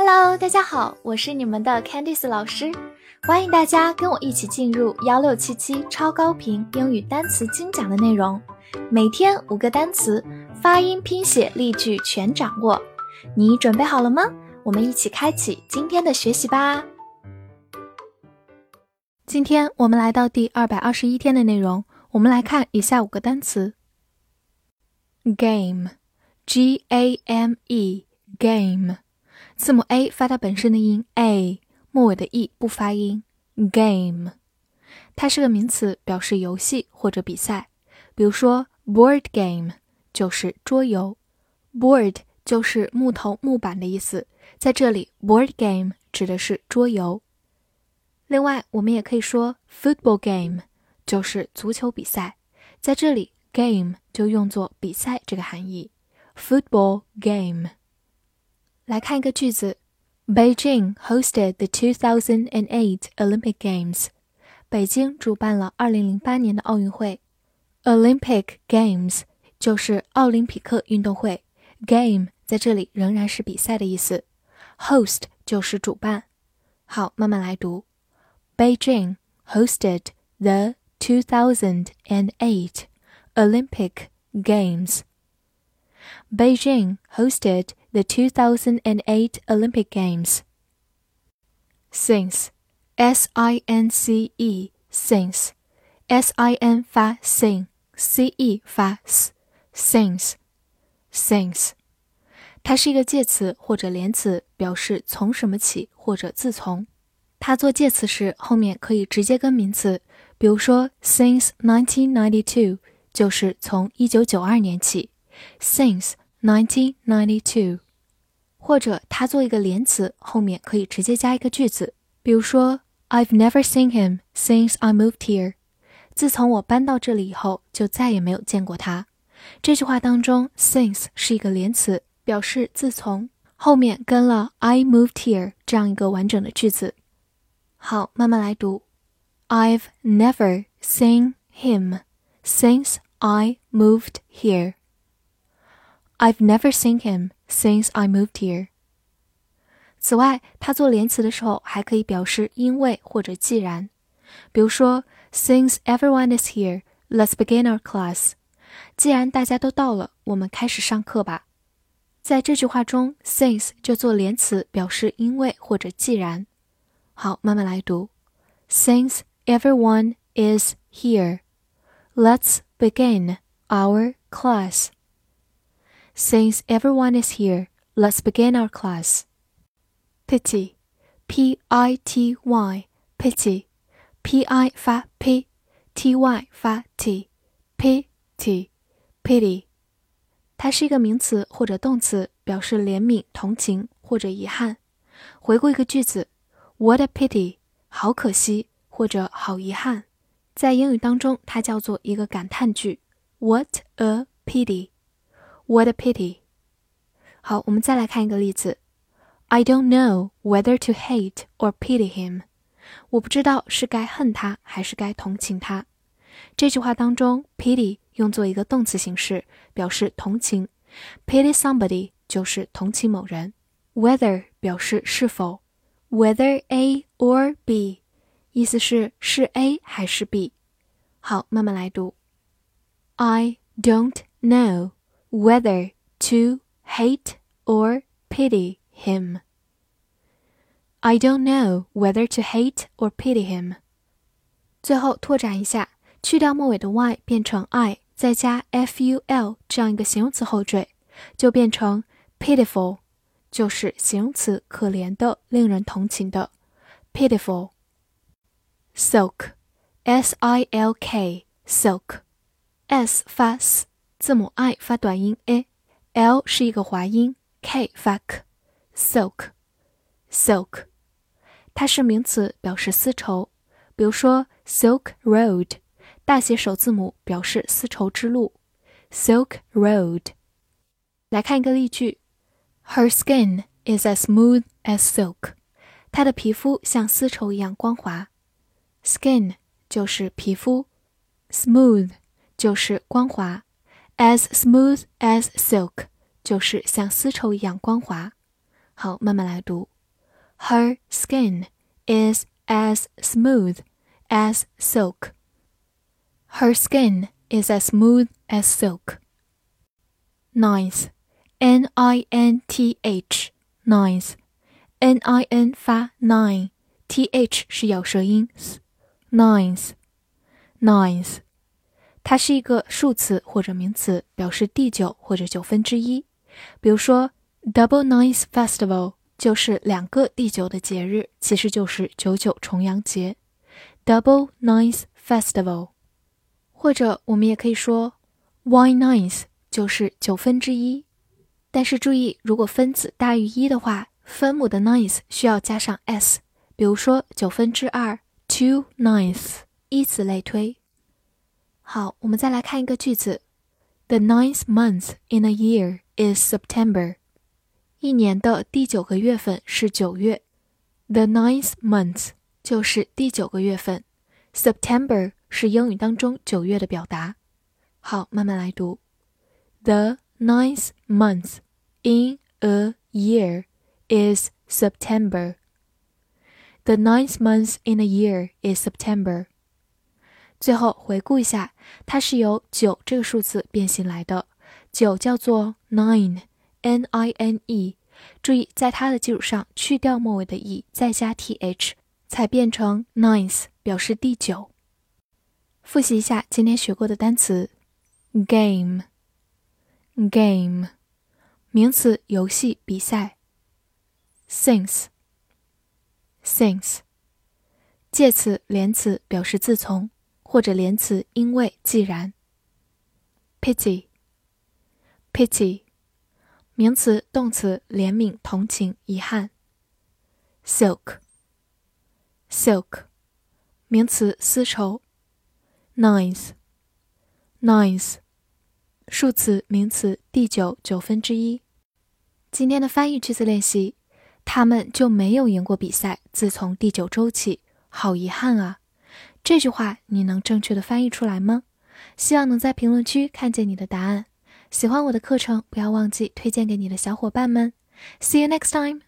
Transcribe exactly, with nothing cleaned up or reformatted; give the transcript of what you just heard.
Hello， 大家好，我是你们的 Candice 老师，欢迎大家跟我一起进入一六七七超高频英语单词精讲的内容，每天五个单词，发音、拼写、例句全掌握。你准备好了吗？我们一起开启今天的学习吧。今天我们来到第二百二十一天的内容，我们来看以下五个单词。Game G A M E Game 字母 A 发它本身的音 A， 末尾的 E 不发音 Game 它是个名词，表示游戏或者比赛，比如说 Board game 就是桌游， Board 就是木头木板的意思，在这里 Board game 指的是桌游。另外我们也可以说 Football game 就是足球比赛，在这里 game 就用作比赛这个含义 Football game。 来看一个句子 Beijing hosted the two thousand eight Olympic Games 北京主办了二零零八年的奥运会。 Olympic Games 就是奥林匹克运动会， Game 在这里仍然是比赛的意思， Host 就是主办。好，慢慢来读。 Beijing hosted the two thousand eight Olympic Games. Beijing hosted the two thousand eight Olympic Games. Since S I N C E Since S I N 发 sin C E 发 s Since Since 它是一个介词或者连词，表示从什么起或者自从。它做介词时后面可以直接跟名词，比如说 since nineteen ninety-two 就是从一九九二年起 since nineteen ninety-two， 或者它做一个连词后面可以直接加一个句子，比如说 I've never seen him since I moved here， 自从我搬到这里以后就再也没有见过他。这句话当中 since 是一个连词，表示自从，后面跟了 I moved here 这样一个完整的句子。好，慢慢来读。 I've never seen him since I moved here. I've never seen him since I moved here. 此外，它做连词的时候还可以表示因为或者既然，比如说 Since everyone is here, let's begin our class. 既然大家都到了，我们开始上课吧。在这句话中 since 就做连词，表示因为或者既然。好，慢慢来读。 Since everyone is here, let's begin our class. Since everyone is here, let's begin our class. Pity P I T Y Pity P I 发 P T Y 发 T Pity Pity 它是一个名词或者动词，表示怜悯、同情或者遗憾。回顾一个句子What a pity 好可惜或者好遗憾，在英语当中它叫做一个感叹句 What a pity What a pity 好，我们再来看一个例子 I don't know whether to hate or pity him 我不知道是该恨他还是该同情他。这句话当中 pity 用作一个动词形式，表示同情， pity somebody 就是同情某人， whether 表示是否Whether A or B 意思是是 A 还是 B。 好，慢慢来读。 I don't know whether to hate or pity him. I don't know whether to hate or pity him. 最后拓展一下，去掉末尾的 Y 变成 I， 再加 ful 这样一个形容词后缀，就变成 pitiful，就是形容词可怜的，令人同情的 pitiful。 Silk S I L K Silk S 发 S， 字母 I 发短音 A， L 是一个滑音 K 发 K Silk Silk 它是名词，表示丝绸，比如说 Silk Road 大写首字母表示丝绸之路 Silk Road。 来看一个例句Her skin is as smooth as silk. 她的皮肤像丝绸一样光滑。Skin 就是皮肤， smooth 就是光滑， as smooth as silk 就是像丝绸一样光滑。好，慢慢来读。 Her skin is as smooth as silk. Her skin is as smooth as silk. Ninth, N I N T H, ninth. N I N 发 nine, T H 是咬舌音 ninth, ninth. 它是一个数词或者名词，表示第九或者九分之一。比如说 Double Ninth Festival 就是两个第九的节日，其实就是九九重阳节。Double Ninth Festival. 或者我们也可以说 One ninth 就是九分之一。但是注意，如果分子大于一的话，分母的 ninth 需要加上 s， 比如说九分之二 two ninths， 以此类推。好，我们再来看一个句子 The ninth month in a year is September. 一年的第九个月份是九月。The ninth month 就是第九个月份。September 是英语当中九月的表达。好，慢慢来读。The ninth month in a year is September. The ninth month in a year is September. 最后回顾一下，它是由九这个数字变形来的。九叫做 nine, N I N E， 注意在它的基础上去掉末尾的 e， 再加 th， 才变成 ninth， 表示第九。复习一下今天学过的单词 game, game 名词游戏比赛。since, since 介词连词表示自从，或者连词因为既然。pity, pity 名词动词怜悯同情遗憾。silk, silk 名词丝绸。ninth, ninth 数词名词第九九分之一。今天的翻译句子练习，他们就没有赢过比赛，自从第九周起，好遗憾啊。这句话你能正确的翻译出来吗？希望能在评论区看见你的答案。喜欢我的课程，不要忘记推荐给你的小伙伴们。See you next time!